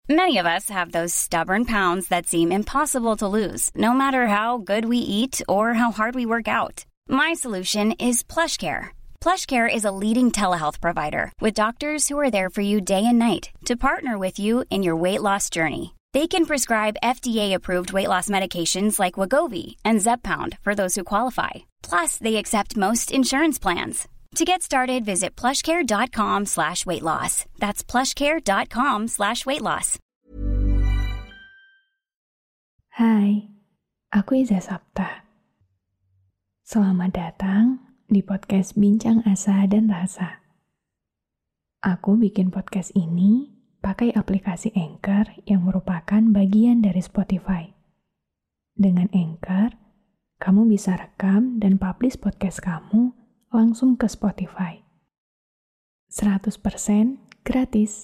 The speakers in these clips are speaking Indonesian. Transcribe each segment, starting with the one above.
Many of us have those stubborn pounds that seem impossible to lose, no matter how good we eat or how hard we work out. My solution is PlushCare. PlushCare is a leading telehealth provider with doctors who are there for you day and night to partner with you in your weight loss journey. They can prescribe FDA-approved weight loss medications like Wegovy and Zepbound for those who qualify. Plus, they accept most insurance plans. To get started, visit plushcare.com/weightloss. That's plushcare.com/weightloss. Hai, aku Iza Sapta. Selamat datang di podcast Bincang Asa dan Rasa. Aku bikin podcast ini pakai aplikasi Anchor yang merupakan bagian dari Spotify. Dengan Anchor, kamu bisa rekam dan publish podcast kamu langsung ke Spotify. 100% gratis.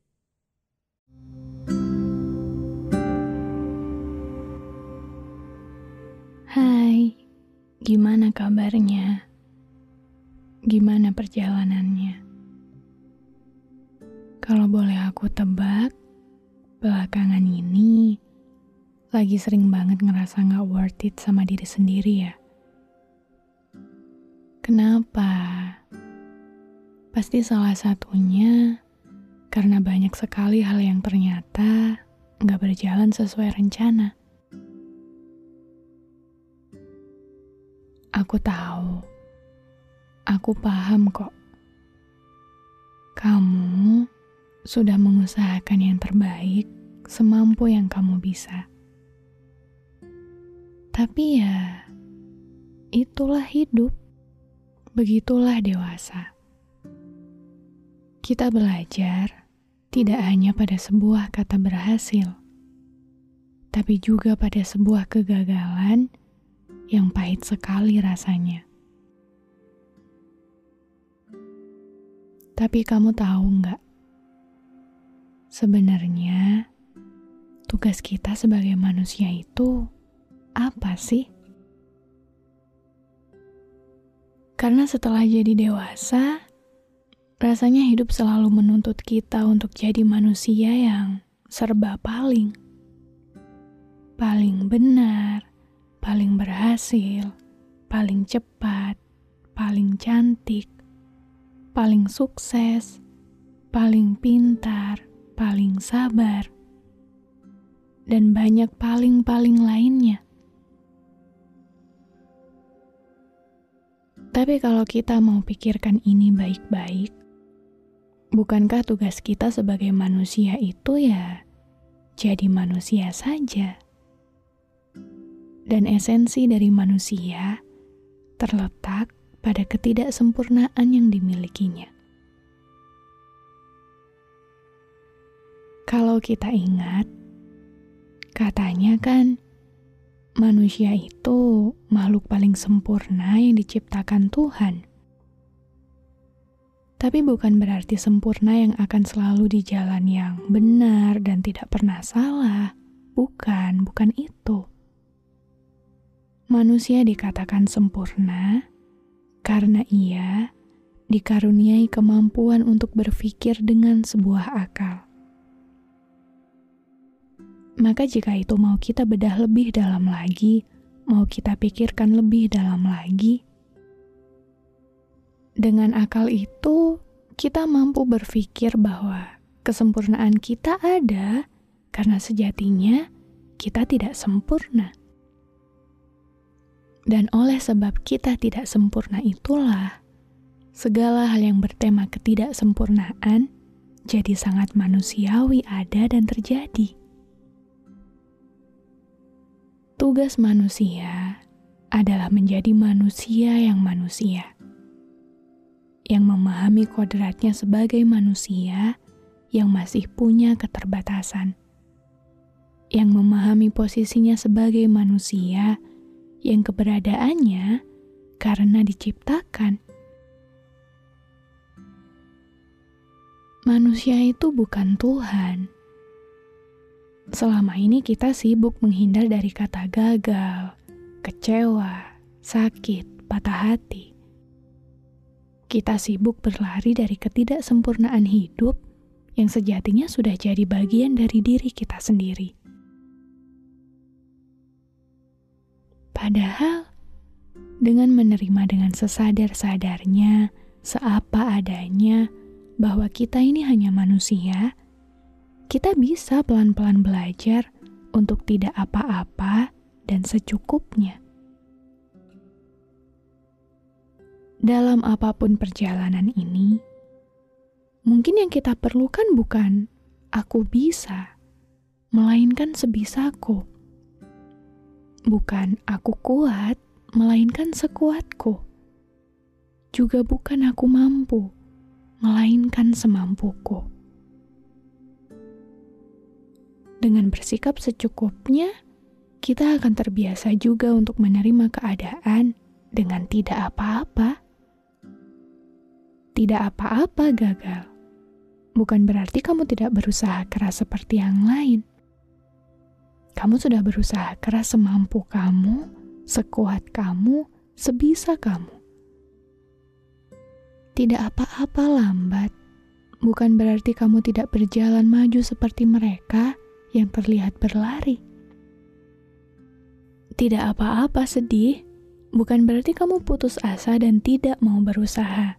Hai, gimana kabarnya? Gimana perjalanannya? Kalau boleh aku tebak, belakangan ini lagi sering banget ngerasa gak worth it sama diri sendiri ya. Kenapa? Pasti salah satunya karena banyak sekali hal yang ternyata gak berjalan sesuai rencana. Aku tahu, aku paham kok. Kamu sudah mengusahakan yang terbaik semampu yang kamu bisa. Tapi ya, itulah hidup. Begitulah dewasa. Kita belajar tidak hanya pada sebuah kata berhasil, tapi juga pada sebuah kegagalan yang pahit sekali rasanya. Tapi kamu tahu nggak? Sebenarnya tugas kita sebagai manusia itu apa sih? Karena setelah jadi dewasa, rasanya hidup selalu menuntut kita untuk jadi manusia yang serba paling benar, paling berhasil, paling cepat, paling cantik, paling sukses, paling pintar, paling sabar, dan banyak paling lainnya. Tapi kalau kita mau pikirkan ini baik-baik, bukankah tugas kita sebagai manusia itu ya jadi manusia saja? Dan esensi dari manusia terletak pada ketidaksempurnaan yang dimilikinya. Kalau kita ingat, katanya kan manusia itu makhluk paling sempurna yang diciptakan Tuhan. Tapi bukan berarti sempurna yang akan selalu di jalan yang benar dan tidak pernah salah. Bukan itu. Manusia dikatakan sempurna karena ia dikaruniai kemampuan untuk berpikir dengan sebuah akal. Maka jika itu mau kita bedah lebih dalam lagi, mau kita pikirkan lebih dalam lagi, dengan akal itu kita mampu berpikir bahwa kesempurnaan kita ada karena sejatinya kita tidak sempurna. Dan oleh sebab kita tidak sempurna itulah, segala hal yang bertema ketidaksempurnaan jadi sangat manusiawi ada dan terjadi. Tugas manusia adalah menjadi manusia, yang memahami kodratnya sebagai manusia yang masih punya keterbatasan, yang memahami posisinya sebagai manusia yang keberadaannya karena diciptakan. Manusia itu bukan Tuhan. Selama ini kita sibuk menghindar dari kata gagal, kecewa, sakit, patah hati. Kita sibuk berlari dari ketidaksempurnaan hidup yang sejatinya sudah jadi bagian dari diri kita sendiri. Padahal, dengan menerima dengan sesadar-sadarnya, seapa adanya, bahwa kita ini hanya manusia, kita bisa pelan-pelan belajar untuk tidak apa-apa dan secukupnya. Dalam apapun perjalanan ini, mungkin yang kita perlukan bukan aku bisa, melainkan sebisaku. Bukan aku kuat, melainkan sekuatku. Juga bukan aku mampu, melainkan semampuku. Dengan bersikap secukupnya, kita akan terbiasa juga untuk menerima keadaan dengan tidak apa-apa. Tidak apa-apa gagal. Bukan berarti kamu tidak berusaha keras seperti yang lain. Kamu sudah berusaha keras semampu kamu, sekuat kamu, sebisa kamu. Tidak apa-apa lambat, bukan berarti kamu tidak berjalan maju seperti mereka yang terlihat berlari. Tidak apa-apa sedih, bukan berarti kamu putus asa dan tidak mau berusaha.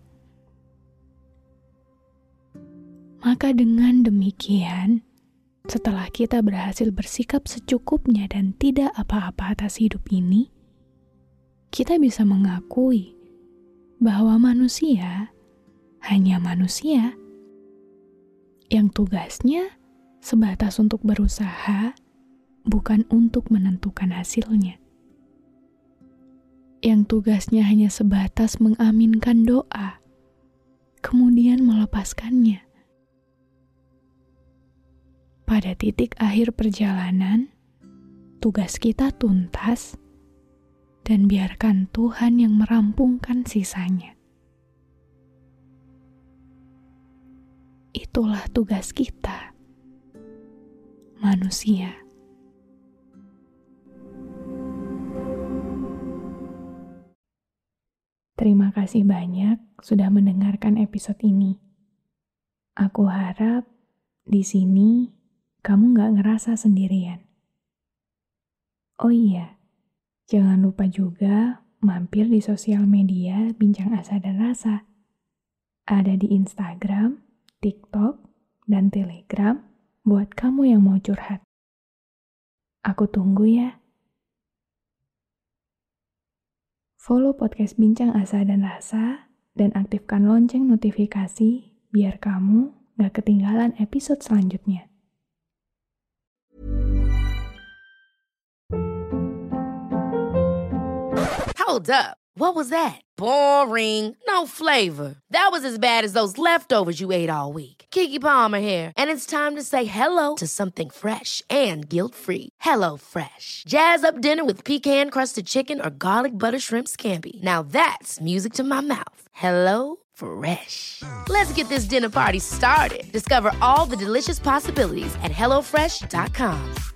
Maka dengan demikian, setelah kita berhasil bersikap secukupnya dan tidak apa-apa atas hidup ini, kita bisa mengakui bahwa manusia hanya manusia yang tugasnya sebatas untuk berusaha, bukan untuk menentukan hasilnya. Yang tugasnya hanya sebatas mengaminkan doa, kemudian melepaskannya. Pada titik akhir perjalanan, tugas kita tuntas dan biarkan Tuhan yang merampungkan sisanya. Itulah tugas kita, manusia. Terima kasih banyak sudah mendengarkan episode ini. Aku harap di sini kamu gak ngerasa sendirian. Oh iya, jangan lupa juga mampir di sosial media Bincang Asa dan Rasa. Ada di Instagram, TikTok, dan Telegram buat kamu yang mau curhat. Aku tunggu ya. Follow podcast Bincang Asa dan Rasa dan aktifkan lonceng notifikasi biar kamu gak ketinggalan episode selanjutnya. Hold up. What was that? Boring. No flavor. That was as bad as those leftovers you ate all week. Keke Palmer here, and it's time to say hello to something fresh and guilt-free. Hello Fresh. Jazz up dinner with pecan-crusted chicken or garlic butter shrimp scampi. Now that's music to my mouth. Hello Fresh. Let's get this dinner party started. Discover all the delicious possibilities at HelloFresh.com.